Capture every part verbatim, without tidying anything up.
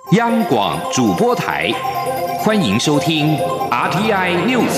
央广主播台，欢迎收听 R T I News。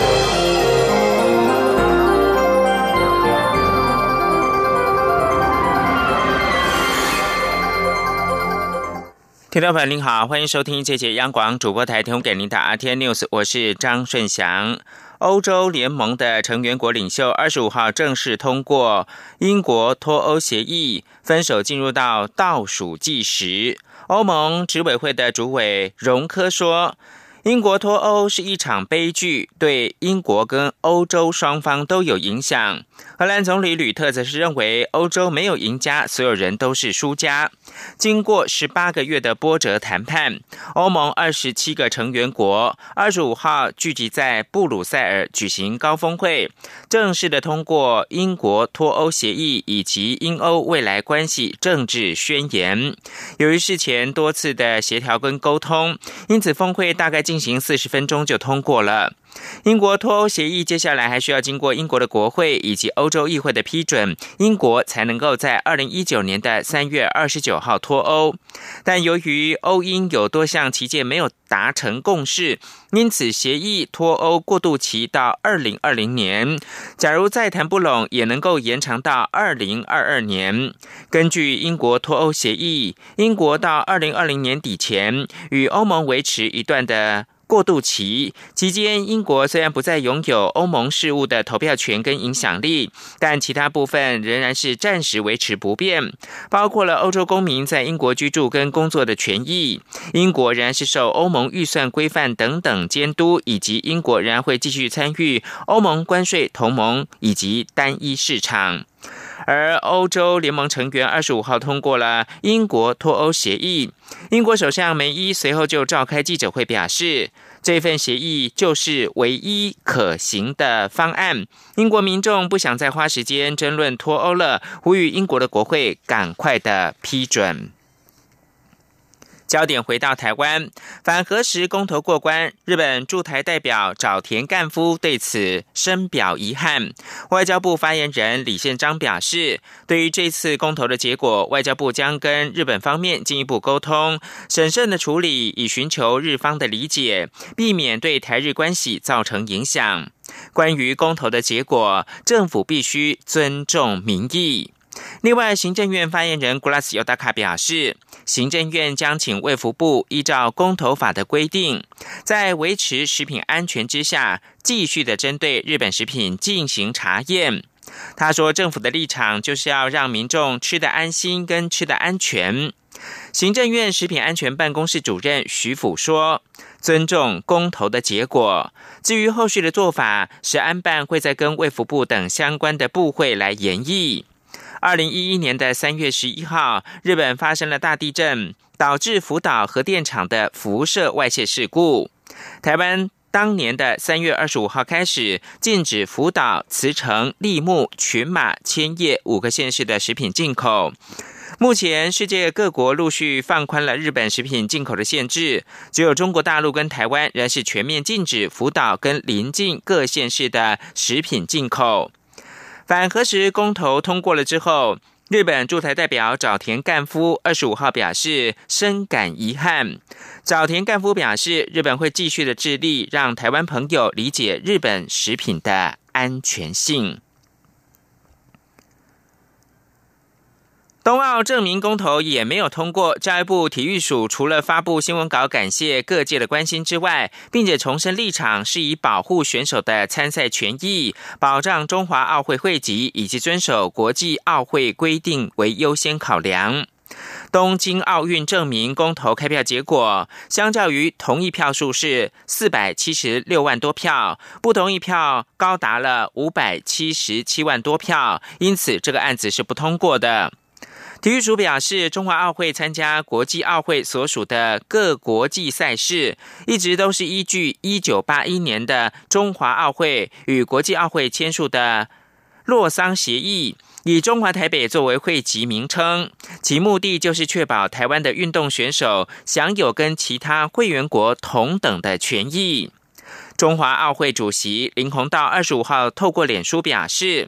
听众朋友您好，欢迎收听这节央广主播台提供给您的 R T I News， 我是张顺祥。欧洲联盟的成员国领袖二十五号正式通过英国脱欧协议，分手进入到倒数计时。欧盟执委会的主委容科说，英国脱欧是一场悲剧，对英国跟欧洲双方都有影响。荷兰总理吕特则是认为欧洲没有赢家，所有人都是输家。经过十八个月的波折谈判，欧盟二十七个成员国二十五号聚集在布鲁塞尔举行高峰会，正式的通过英国脱欧协议以及英欧未来关系政治宣言。由于事前多次的协调跟沟通，因此峰会大概进行四十分钟就通过了。英国脱欧协议接下来还需要经过英国的国会以及欧洲议会的批准，英国才能够在二零一九年的三月二十九号脱欧。但由于欧英有多项期间没有达成共识，因此协议脱欧过渡期到二零二零年，假如再谈不拢，也能够延长到二零二二年。根据英国脱欧协议，英国到二零二零年底前与欧盟维持一段的过渡期，期间英国虽然不再拥有欧盟事务的投票权跟影响力，但其他部分仍然是暂时维持不变，包括了欧洲公民在英国居住跟工作的权益，英国仍然是受欧盟预算规范等等监督，以及英国仍然会继续参与欧盟关税同盟以及单一市场。而欧洲联盟成员二十五号通过了英国脱欧协议，英国首相梅伊随后就召开记者会表示，这份协议就是唯一可行的方案，英国民众不想再花时间争论脱欧了，呼吁英国的国会赶快的批准。焦点回到台湾，反核食公投过关，日本驻台代表沼田干夫对此深表遗憾。外交部发言人李宪章表示，对于这次公投的结果，外交部将跟日本方面进一步沟通，审慎的处理，以寻求日方的理解，避免对台日关系造成影响。关于公投的结果，政府必须尊重民意。另外，行政院发言人古拉斯尤达卡表示，行政院将请卫福部依照公投法的规定，在维持食品安全之下，继续的针对日本食品进行查验。他说，政府的立场就是要让民众吃得安心跟吃得安全。行政院食品安全办公室主任徐辅说，尊重公投的结果，至于后续的做法，食安办会再跟卫福部等相关的部会来研议。二零一一年的三月十一号，日本发生了大地震，导致福岛核电厂的辐射外泄事故。台湾当年的三月二十五号开始，禁止福岛、茨城、櫪木、群马、千叶五个县市的食品进口。目前世界各国陆续放宽了日本食品进口的限制，只有中国大陆跟台湾仍是全面禁止福岛跟邻近各县市的食品进口。反核食公投通过了之后，日本驻台代表沼田干夫二十五号表示深感遗憾。沼田干夫表示，日本会继续的致力让台湾朋友理解日本食品的安全性。冬奥证明公投也没有通过，教育部体育署除了发布新闻稿感谢各界的关心之外，并且重申立场是以保护选手的参赛权益、保障中华奥会会籍以及遵守国际奥会规定为优先考量。东京奥运证明公投开票结果，相较于同意票数是四百七十六万多票，不同意票高达了五百七十七万多票，因此这个案子是不通过的。体育署表示，中华奥会参加国际奥会所属的各国际赛事，一直都是依据一九八一年的中华奥会与国际奥会签署的洛桑协议，以中华台北作为会籍名称，其目的就是确保台湾的运动选手享有跟其他会员国同等的权益。中华奥会主席林鸿道二十五号透过脸书表示，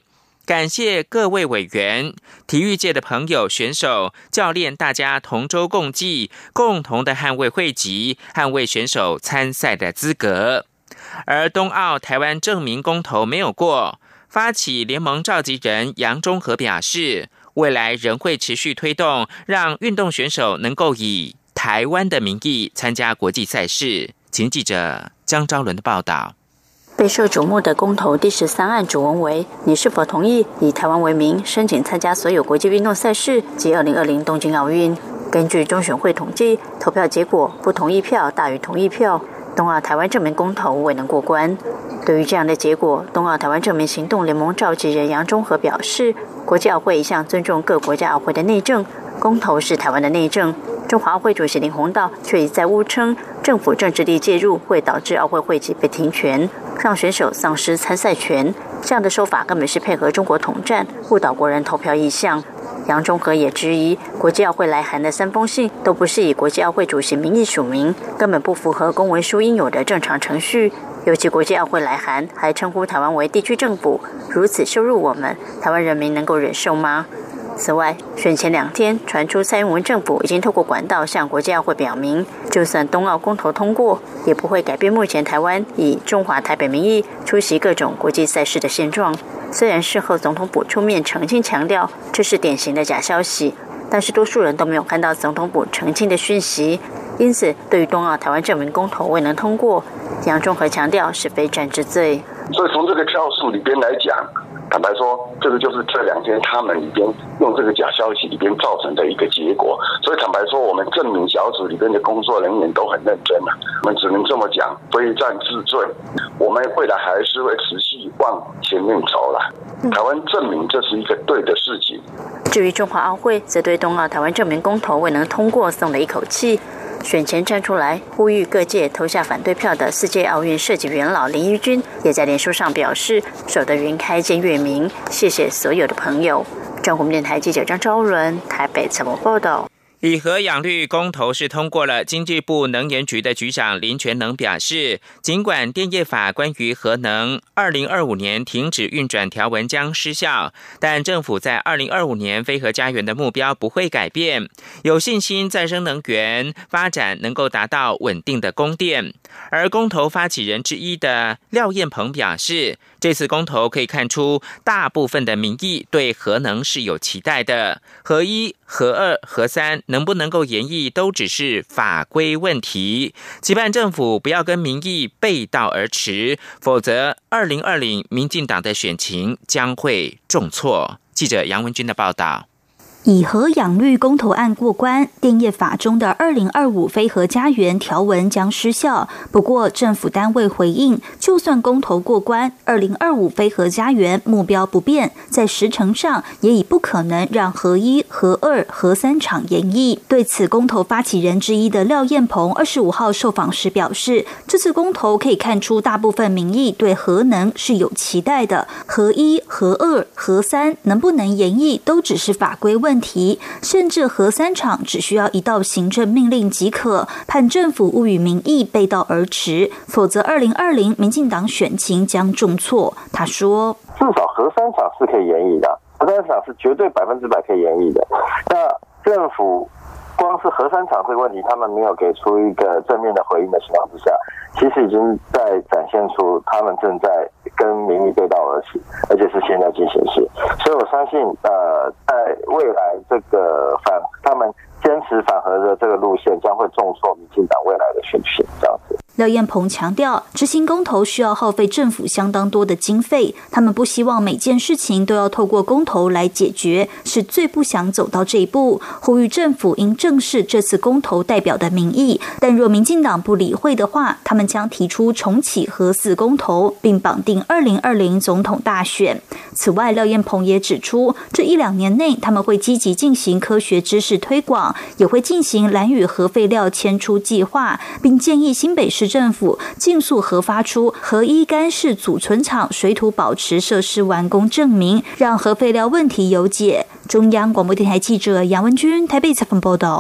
感谢各位委员、体育界的朋友、选手、教练，大家同舟共济，共同的捍卫会籍，捍卫选手参赛的资格。而冬奥台湾证明公投没有过，发起联盟召集人杨中和表示，未来仍会持续推动，让运动选手能够以台湾的名义参加国际赛事。请记者江昭伦的报道。 备受瞩目的公投第十三案主文为：你是否同意以台湾为名申请参加所有国际运动赛事及二零二零东京奥运？根据中选会统计，投票结果不同意票大于同意票，冬奥台湾证明公投未能过关。对于这样的结果，冬奥台湾证明行动联盟召集人杨中和表示，国际奥会一向尊重各国家奥会的内政，公投是台湾的内政。中华奥会主席林鸿道却一再误称，政府政治力介入会导致奥会会籍被停权，让选手丧失参赛权。这样的说法根本是配合中国统战，误导国人投票意向。杨中和也质疑，国际奥会来函的三封信都不是以国际奥会主席名义署名，根本不符合公文书应有的正常程序。尤其国际奥会来函还称呼台湾为地区政府，如此羞辱我们，台湾人民能够忍受吗？此外，选前两天传出蔡英文政府已经透过管道向国际奥会表明，就算冬奥公投通过，也不会改变目前台湾以中华台北名义出席各种国际赛事的现状。虽然事后总统府出面澄清强调这是典型的假消息，但是多数人都没有看到总统府澄清的讯息，因此对于冬奥台湾证明公投未能通过，杨中和强调是非战之罪。 所以从这个票数里边来讲，坦白说，这个就是这两天他们里边用这个假消息里边造成的一个结果。所以坦白说，我们证明小组里边的工作人员都很认真了、啊，我们只能这么讲，非战之罪。我们未来还是会持续往前面走了。台湾证明这是一个对的事情。 至于中华奥会，则对冬奥台湾证明公投未能通过松了一口气。选前站出来呼吁各界投下反对票的世界奥运设计元老林怡君，也在脸书上表示，守得云开见月明，谢谢所有的朋友。中国电台记者张昭伦台北采访报道。 以核养绿公投是通过了，经济部能源局的局长林全能表示，尽管电业法关于核能二零二五年停止运转条文将失效，但政府在二零二五年非核家园的目标不会改变，有信心再生能源发展能够达到稳定的供电。而公投发起人之一的廖燕鹏表示，这次公投可以看出大部分的民意对核能是有期待的，核一、核二、核三能不能够延役都只是法规问题，期盼政府不要跟民意背道而驰，否则二零二零民进党的选情将会重挫。记者杨文君的报道。 以核养绿公投案过关，电业法中的二零二五非核家园条文将失效。不过政府单位回应，就算公投过关，二零二五非核家园目标不变，在时程上也已不可能让核一、核二、核三厂延役。对此，公投发起人之一的廖燕鹏二十五号受访时表示，这次公投可以看出大部分民意对核能是有期待的，核一、核二、核三能不能延役都只是法规问题。问题，甚至核三厂只需要一道行政命令即可，盼政府勿与民意背道而驰，否则二零二零民进党选情将重挫。他说， 至少核三厂是可以延役的，核三厂是绝对百分之百可以延役的。那政府光是核三厂这个问题，他们没有给出一个正面的回应的情况之下，其实已经在展现出他们正在跟民意背道而驰，而且是现在进行时。所以我相信，呃，在未来这个反他们坚持反核的这个路线，将会重挫民进党未来的选情，这样子。 廖燕鹏强调，执行公投需要耗费政府相当多的经费，他们不希望每件事情都要透过公投来解决，是最不想走到这一步，呼吁政府应正视这次公投代表的民意，但若民进党不理会的话，他们将提出重启核四公投，并绑定二零二零总统大选。此外，廖燕鹏也指出，这一两年内他们会积极进行科学知识推广，也会进行兰屿核废料迁出计划，并建议新北市政府尽速核发出核一干式组存厂水土保持设施完工证明，让核废料问题有解。中央广播电台记者杨文君台北采访报道。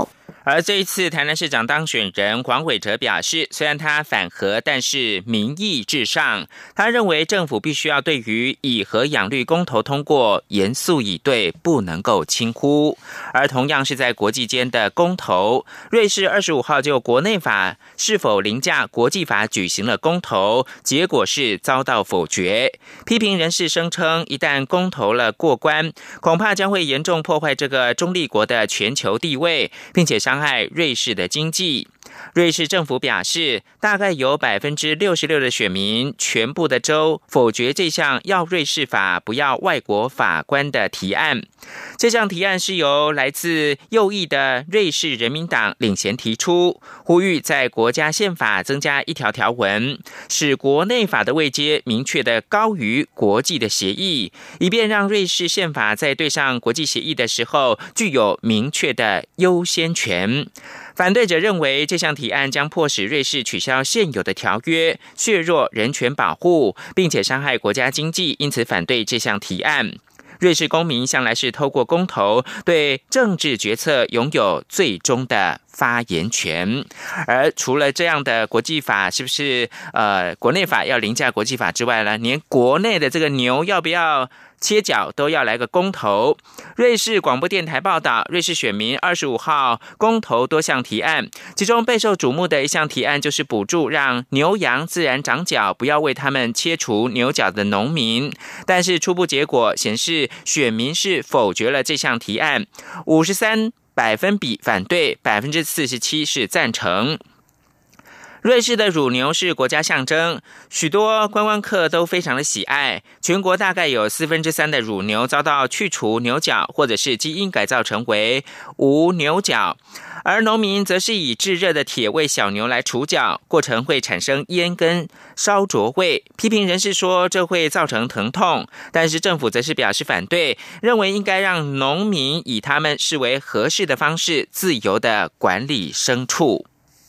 而这一次台南市长当选人黄伟哲表示，虽然他反核，但是民意至上。他认为政府必须要对于以核养绿公投通过严肃以对，不能够轻忽。而同样是在国际间的公投，瑞士二十五号就国内法是否凌驾国际法举行了公投，结果是遭到否决。批评人士声称，一旦公投了过关，恐怕将会严重破坏这个中立国的全球地位，并且伤害瑞士的经济。瑞士政府表示，大概有 百分之六十六 的选民全部的州否决这项要瑞士法不要外国法官的提案。这项提案是由来自右翼的瑞士人民党领衔提出，呼吁在国家宪法增加一条条文，使国内法的位阶明确的高于国际的协议，以便让瑞士宪法在对上国际协议的时候具有明确的优先权。反对者认为，这项提案将迫使瑞士取消现有的条约，削弱人权保护，并且伤害国家经济，因此反对这项提案。瑞士公民向来是透过公投对政治决策拥有最终的发言权。而除了这样的国际法是不是呃国内法要凌驾国际法之外呢，连国内的这个牛要不要切角都要来个公投。瑞士广播电台报道，瑞士选民二十五号公投多项提案，其中备受瞩目的一项提案就是补助让牛羊自然长角，不要为他们切除牛角的农民。但是初步结果显示，选民是否决了这项提案，五十三百分比反对， 百分之四十七 是赞成。瑞士的乳牛是国家象征，许多观光客都非常的喜爱。全国大概有四分之三的乳牛遭到去除牛角，或者是基因改造成为无牛角。而农民则是以炙热的铁为小牛来除角，过程会产生烟跟烧灼味。批评人士说这会造成疼痛，但是政府则是表示反对，认为应该让农民以他们视为合适的方式自由的管理牲畜。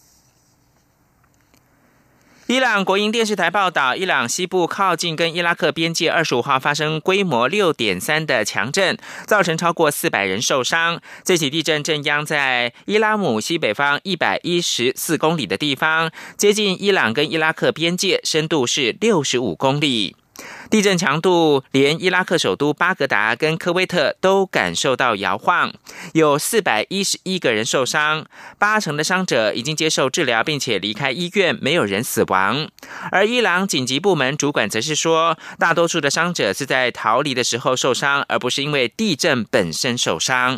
伊朗国营电视台报道，伊朗西部靠近跟伊拉克边界二十五号发生规模 六点三 的强震，造成超过四百人受伤。这起地震震央在伊拉姆西北方一百一十四公里的地方，接近伊朗跟伊拉克边界，深度是六十五公里。地震强度连伊拉克首都巴格达跟科威特都感受到摇晃，有四百一十一个人受伤，八成的伤者已经接受治疗并且离开医院，没有人死亡。而伊朗紧急部门主管则是说，大多数的伤者是在逃离的时候受伤，而不是因为地震本身受伤。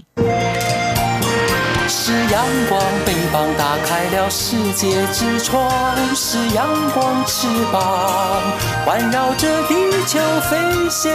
是阳光，翅膀打开了世界之窗，是阳光翅膀环绕着地球飞翔。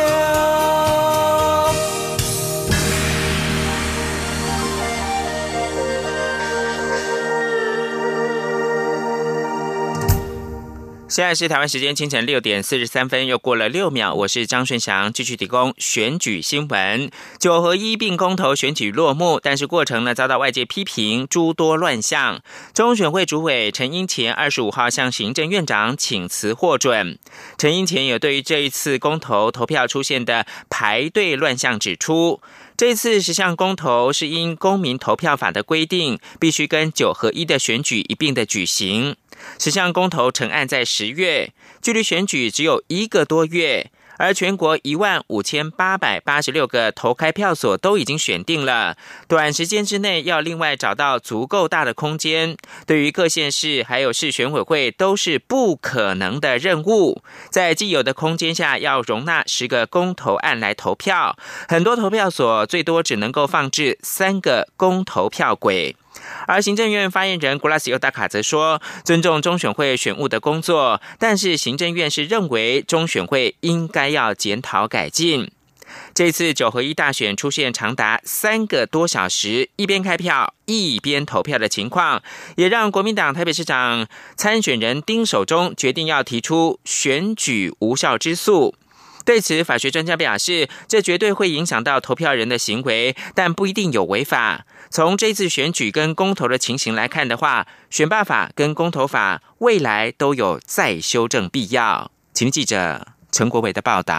现在是台湾时间清晨六点四十三分，又过了六秒，我是张顺祥，继续提供选举新闻。九合一并公投选举落幕，但是过程呢遭到外界批评诸多乱象。中选会主委陈英前二十五号向行政院长请辞获准。陈英前有对于这一次公投投票出现的排队乱象指出，这次十项公投是因公民投票法的规定，必须跟九合一的选举一并的举行。十项公投成案在十月，距离选举只有一个多月，而全国一万五千八百八十六个投开票所都已经选定了，短时间之内要另外找到足够大的空间，对于各县市还有市选委会都是不可能的任务。在既有的空间下，要容纳十个公投案来投票，很多投票所最多只能够放置三个公投票轨。而行政院发言人古拉斯尤达卡则说，尊重中选会选务的工作，但是行政院是认为中选会应该要检讨改进。这次九合一大选出现长达三个多小时一边开票一边投票的情况，也让国民党台北市长参选人丁守中决定要提出选举无效之诉。对此，法学专家表示，这绝对会影响到投票人的行为，但不一定有违法。从这次选举跟公投的情形来看的话，选罢法跟公投法未来都有再修正必要。请记者陈国伟的报道。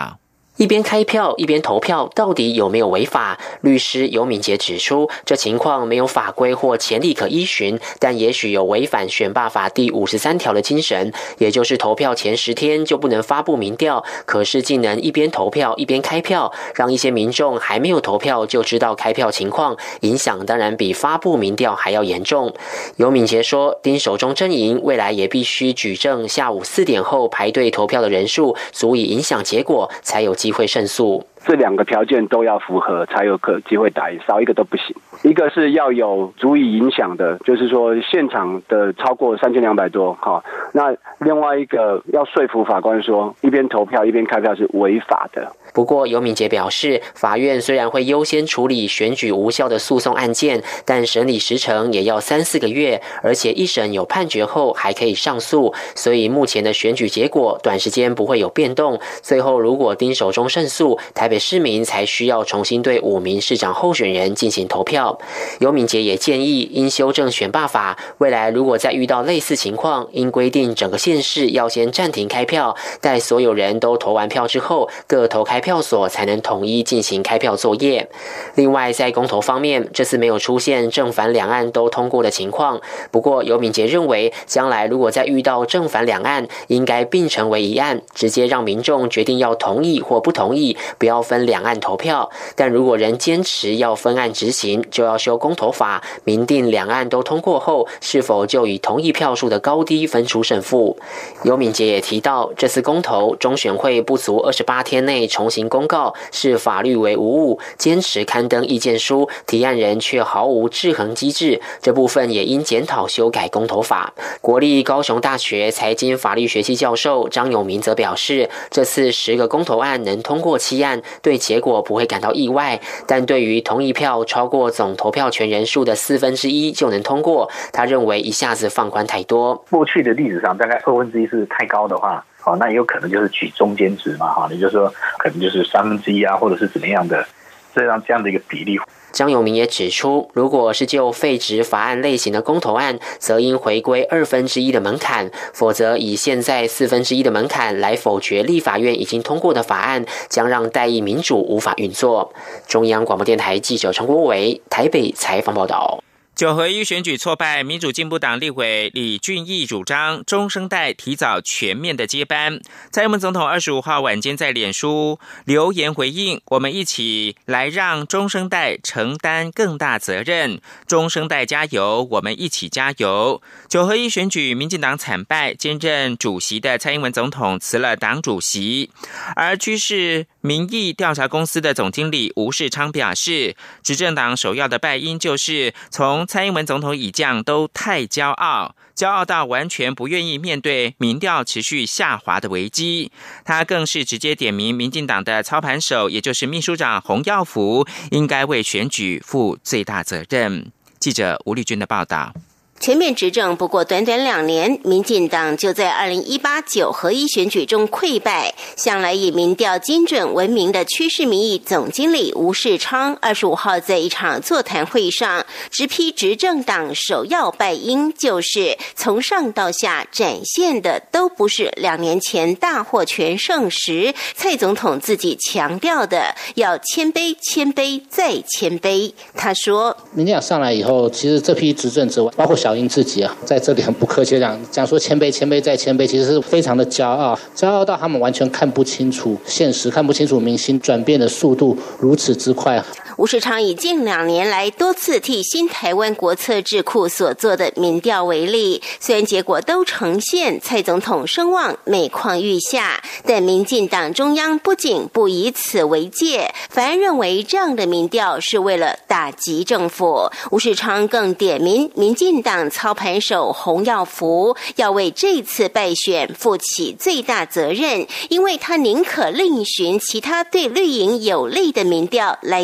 一边开票一边投票，到底有没有违法？律师尤敏杰指出，这情况没有法规或前例可依循，但也许有违反选罢法第五十三条的精神，也就是投票前十天就不能发布民调，可是竟能一边投票一边开票，让一些民众还没有投票就知道开票情况，影响当然比发布民调还要严重。尤敏杰说，丁守中阵营未来也必须举证下午四点后排队投票的人数足以影响结果，才有机会胜诉。 这两个条件都要符合，才有可机会打赢，少一个都不行。一个是要有足以影响的，就是说现场的超过三千两百多，哈。那另外一个要说服法官说，一边投票一边开票是违法的。不过尤敏杰表示，法院虽然会优先处理选举无效的诉讼案件，但审理时程也要三四个月，而且一审有判决后还可以上诉，所以目前的选举结果短时间不会有变动。最后如果丁守中胜诉，台北市民才需要重新对五名市长候选人进行投票。尤敏杰也建议，应修正选罢法，未来如果再遇到类似情况，应规定整个县市要先暂停开票，待所有人都投完票之后，各投开票所才能统一进行开票作业。另外在公投方面，这次没有出现正反两岸都通过的情况，不过尤敏杰认为，将来如果再遇到正反两岸，应该并成为一案，直接让民众决定要同意或不同意，不要分两岸投票。但如果仍坚持要分案执行，就要修公投法，明定两岸都通过后，是否就以同意票数的高低分出胜负。尤敏杰也提到，这次公投中选会不足二十八天内重行公告，视法律为无误，坚持刊登意见书，提案人却毫无制衡机制，这部分也应检讨修改公投法。国立高雄大学财经法律学系教授张永明则表示，这次十个公投案能通过七案，对结果不会感到意外，但对于同意票超过总投票权人数的四分之一就能通过，他认为一下子放宽太多。 过去的历史上大概二分之一是太高的话，好，那也有可能就是取中间值嘛，哈，也就是说可能就是三分之一啊，或者是怎么样的，这样这样的一个比例。 张永明也指出，如果是就废止法案类型的公投案，则应回归二分之一的门槛，否则以现在四分之一的门槛来否决立法院已经通过的法案，将让代议民主无法运作。中央广播电台记者陈国伟台北采访报道。 九合一选举挫败，民主进步党立委李俊毅主张中生代提早全面的接班。蔡英文总统二十五号晚间在脸书留言回应：“我们一起来让中生代承担更大责任，中生代加油，我们一起加油。”九合一选举，民进党惨败，兼任主席的蔡英文总统辞了党主席，而居士民意调查公司的总经理吴世昌表示，执政党首要的败因就是从蔡英文总统以降都太骄傲，骄傲到完全不愿意面对民调持续下滑的危机。他更是直接点名民进党的操盘手，也就是秘书长洪耀福，应该为选举负最大责任。记者吴丽君的报道。 全面执政不过短短两年，民进党就在二零一八九合一选举中溃败。向来以民调精准闻名的趋势民意总经理吴世昌，二十五号在一场座谈会上直批执政党首要败因，就是从上到下展现的都不是两年前大获全胜时蔡总统自己强调的要谦卑、谦卑再谦卑。他说， 民进党上来以后，其实这批执政之外，包括小英自己啊，在这里很不客气讲讲说谦卑谦卑再谦卑，其实是非常的骄傲，骄傲到他们完全看不清楚现实，看不清楚民心转变的速度如此之快。 吴世昌以近两年来多次替新台湾国策智库所做的民调为例，虽然结果都呈现蔡总统声望每况愈下，但民进党中央不仅不以此为戒，反而认为这样的民调是为了打击政府。吴世昌更点名民进党操盘手洪耀福要为这次败选负起最大责任，因为他宁可另寻其他对绿营有利的民调来自欺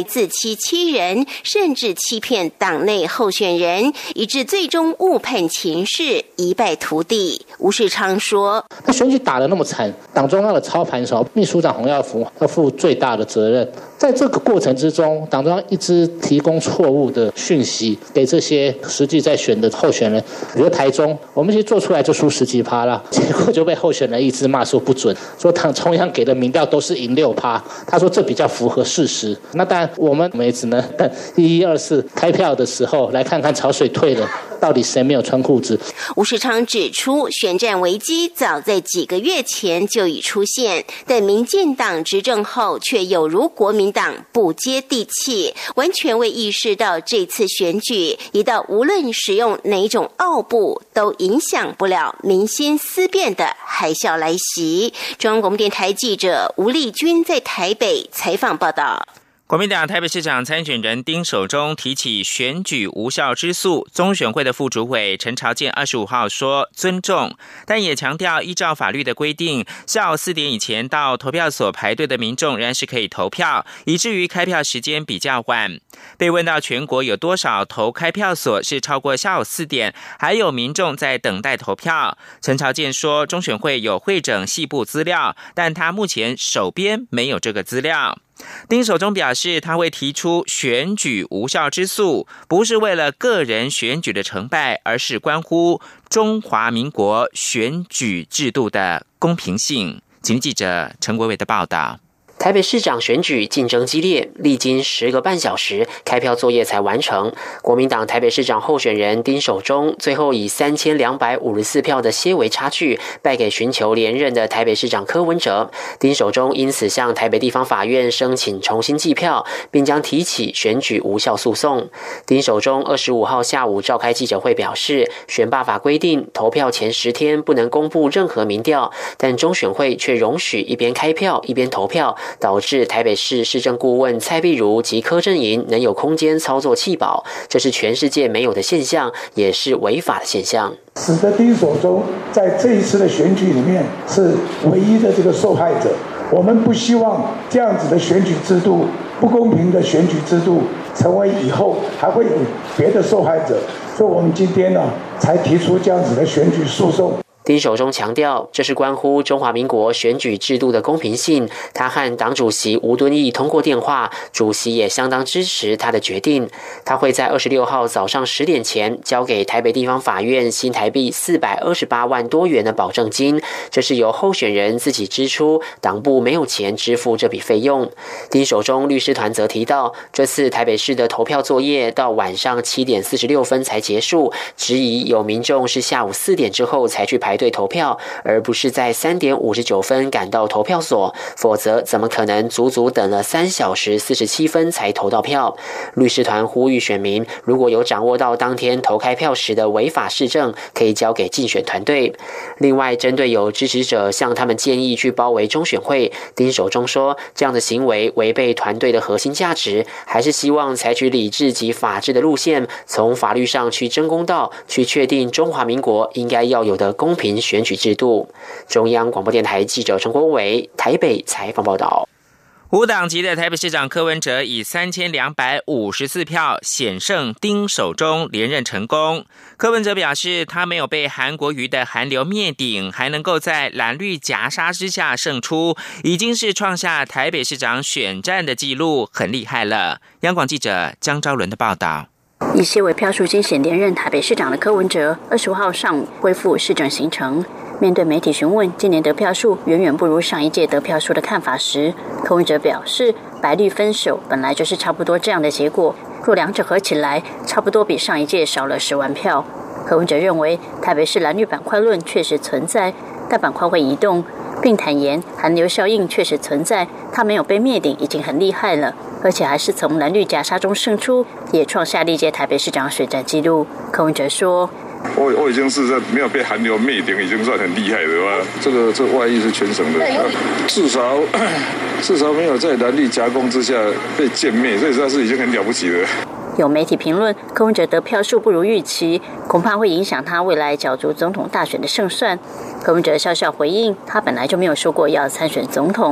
欺欺人，甚至欺骗党内候选人，以致最终误判情势，一败涂地。吴世昌说：“ 那选举打得那么惨，党中央的操盘手秘书长洪耀福要负最大的责任。在这个过程之中，党中央一直提供错误的讯息给这些实际在选的候选人，比如台中，我们其实做出来就输十几趴了，结果就被候选人一直骂说不准，说党中央给的民调都是赢六趴，他说这比较符合事实。那当然我们也只能等一一二四开票的时候来看看潮水退了，到底谁没有穿裤子。” 吴世昌指出，选战危机早在几个月前就已出现，但民进党执政后却有如国民党不接地气，完全未意识到这次选举一到无论使用哪种奥步都影响不了民心思变的海啸来袭。中央广播电台记者吴丽君在台北采访报道。 国民党台北市长参选人丁守中提起选举无效之诉，中选会的副主委陈朝健二十五号说尊重，但也强调依照法律的规定，下午四点以前到投票所排队的民众仍然是可以投票，以至于开票时间比较晚。被问到全国有多少投开票所是超过下午四点，还有民众在等待投票，陈朝健说中选会有汇整细部资料，但他目前手边没有这个资料。丁守中表示，他会提出选举无效之诉，不是为了个人选举的成败，而是关乎中华民国选举制度的公平性。请听记者陈国伟的报道。 台北市长选举竞争激烈，历经十个半小时，开票作业才完成。国民党台北市长候选人丁守中最后以三千两百五十四票的些微差距败给寻求连任的台北市长柯文哲。丁守中因此向台北地方法院申请重新计票，并将提起选举无效诉讼。丁守中二十五号下午召开记者会表示，选罢法规定投票前十天不能公布任何民调，但中选会却容许一边开票一边投票，导致台北市市政顾问蔡碧如及柯阵营能有空间操作弃保，这是全世界没有的现象，也是违法的现象。 使得丁守中在这一次的选举里面是唯一的这个受害者。我们不希望这样子的选举制度，不公平的选举制度成为以后还会有别的受害者，所以我们今天呢才提出这样子的选举诉讼。 丁守中强调，这是关乎中华民国选举制度的公平性。他和党主席吴敦义通过电话，主席也相当支持他的决定。他会在二十六号早上十点前交给台北地方法院新台币四百二十八万多元的保证金，这是由候选人自己支出，党部没有钱支付这笔费用。丁守中律师团则提到，这次台北市的投票作业到晚上七点四十六分才结束，质疑有民众是下午四点之后才去排队投票，而不是在三点五十九分赶到投票所，否则怎么可能足足等了三小时四十七分才投到票？律师团呼吁选民，如果有掌握到当天投开票时的违法事证，可以交给竞选团队。另外，针对有支持者向他们建议去包围中选会，丁守中说，这样的行为违背团队的核心价值，还是希望采取理智及法治的路线，从法律上去争公道，去确定中华民国应该要有的公平选举制度。中央广播电台记者陈国伟台北采访报道。 无党籍的台北市长柯文哲以三千两百五十四票险胜丁守中连任成功。柯文哲表示，他没有被韩国瑜的韩流灭顶，还能够在蓝绿夹杀之下胜出，已经是创下台北市长选战的纪录，很厉害了。央广记者江昭伦的报道。 以些微票数惊险连任台北市长的柯文哲，二十五号上午恢复市政行程。面对媒体询问今年得票数远远不如上一届得票数的看法时，柯文哲表示，白绿分手本来就是差不多这样的结果，若两者合起来，差不多比上一届少了十万票。柯文哲认为，台北市蓝绿板块论确实存在，但板块会移动，并坦言韩流效应确实存在，他没有被灭顶已经很厉害了，而且还是从蓝绿夹杀中胜出，也创下历届台北市长选战纪录。柯文哲说， 我我已经是在没有被韩流灭顶，已经算很厉害的吧。这个这外溢是全省的，至少至少没有在蓝绿夹攻之下被歼灭，所以这是已经很了不起了。 有媒体评论，柯文哲得票数不如预期，恐怕会影响他未来角逐总统大选的胜算。柯文哲笑笑回应，他本来就没有说过要参选总统。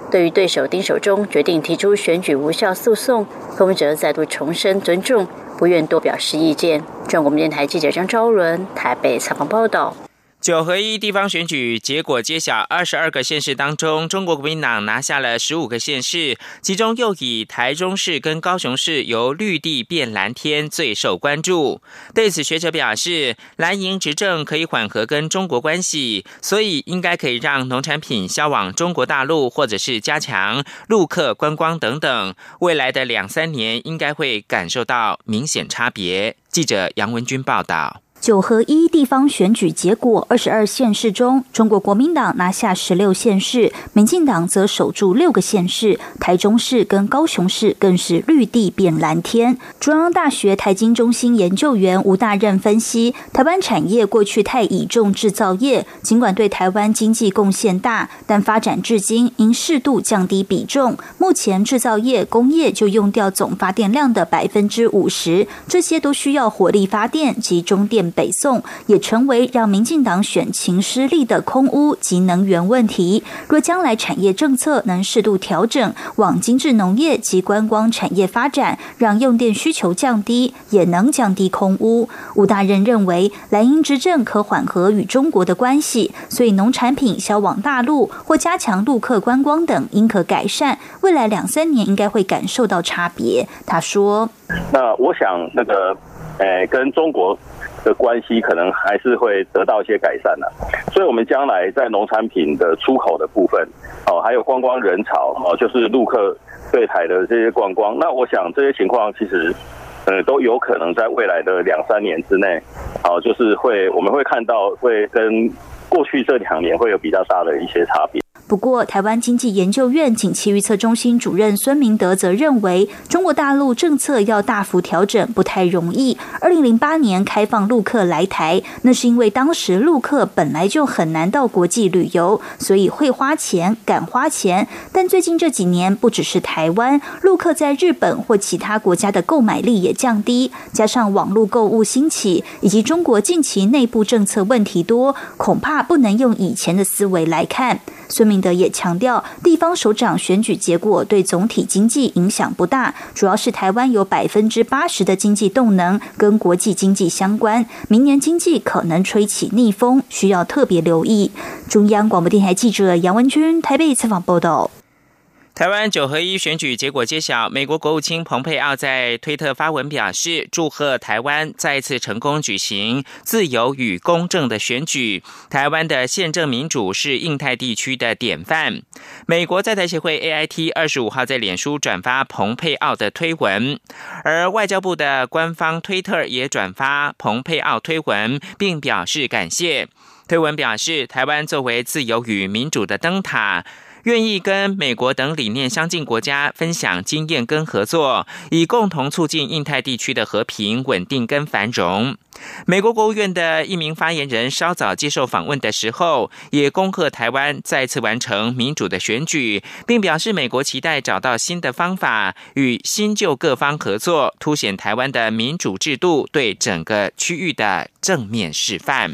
对于对手丁守中决定提出选举无效诉讼，柯文哲再度重申尊重，不愿多表示意见。中国电台记者张昭伦台北采访报道。 九合一地方选举结果揭晓，二十二个县市当中，中国国民党拿下了十五个县市，其中又以台中市跟高雄市由绿地变蓝天最受关注。对此，学者表示，蓝营执政可以缓和跟中国关系，所以应该可以让农产品销往中国大陆，或者是加强陆客观光等等。未来的两三年应该会感受到明显差别。记者杨文君报道。 九合一地方选举结果，二十二县市中，中国国民党拿下十六县市，民进党则守住六个县市，台中市跟高雄市更是绿地变蓝天。中央大学台经中心研究员吴大任分析，台湾产业过去太倚重制造业，尽管对台湾经济贡献大，但发展至今应适度降低比重。目前制造业、工业就用掉总发电量的百分之五十，这些都需要火力发电及中电北送，也成为让民进党选情失利的空污及能源问题。若将来产业政策能适度调整，往精致农业及观光产业发展，让用电需求降低，也能降低空污。吴大任认为，蓝营执政可缓和与中国的关系，所以农产品销往大陆或加强陆客观光等应可改善。未来两三年应该会感受到差别。他说：“ 那我想那个，呃，跟中国的关系可能还是会得到一些改善的，所以我们将来在农产品的出口的部分，哦，还有观光人潮，哦，就是陆客对台的这些观光，那我想这些情况其实，呃，都有可能在未来的两三年之内，哦，就是会我们会看到会跟过去这两年会有比较大的一些差别。” 不过，台湾经济研究院景气预测中心主任孙明德则认为，中国大陆政策要大幅调整不太容易。二零零八年开放陆客来台，那是因为当时陆客本来就很难到国际旅游，所以会花钱、敢花钱。但最近这几年，不只是台湾，陆客在日本或其他国家的购买力也降低，加上网络购物兴起，以及中国近期内部政策问题多，恐怕不能用以前的思维来看。孙明德也强调，地方首长选举结果对总体经济影响不大，主要是台湾有百分之八十的经济动能跟国际经济相关，明年经济可能吹起逆风，需要特别留意。中央广播电台记者杨文君台北采访报道。 台湾九合一选举结果揭晓，美国国务卿蓬佩奥在推特发文表示，祝贺台湾再次成功举行自由与公正的选举，台湾的宪政民主是印太地区的典范。美国在台协会 A I T 二十五号在脸书转发蓬佩奥的推文，而外交部的官方推特也转发蓬佩奥推文，并表示感谢。推文表示，台湾作为自由与民主的灯塔，愿意跟美国等理念相近国家分享经验跟合作，以共同促进印太地区的和平、稳定跟繁荣。美国国务院的一名发言人稍早接受访问的时候，也恭贺台湾再次完成民主的选举，并表示美国期待找到新的方法，与新旧各方合作，凸显台湾的民主制度对整个区域的正面示范。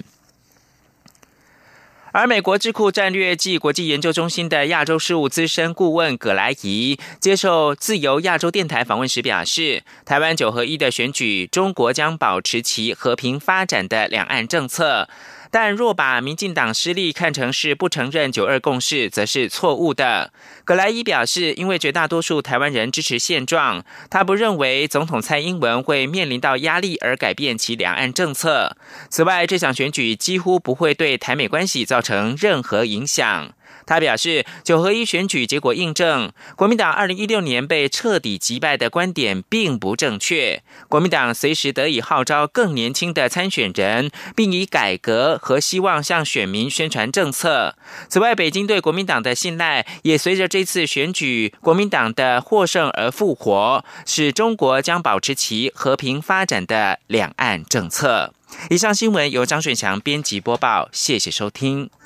而美国智库战略暨国际研究中心的亚洲事务资深顾问葛莱仪接受自由亚洲电台访问时表示，台湾九合一的选举，中国将保持其和平发展的两岸政策，但若把民进党失利看成是不承认九二共识，则是错误的。葛莱伊表示，因为绝大多数台湾人支持现状，他不认为总统蔡英文会面临到压力而改变其两岸政策。此外，这场选举几乎不会对台美关系造成任何影响。他表示，九合一选举结果印证，国民党二零一六年被彻底击败的观点并不正确。国民党随时得以号召更年轻的参选人，并以改革和希望向选民宣传政策。此外，北京对国民党的信赖也随着这次选举国民党的获胜而复活，使中国将保持其和平发展的两岸政策。以上新闻由张顺祥编辑播报，谢谢收听。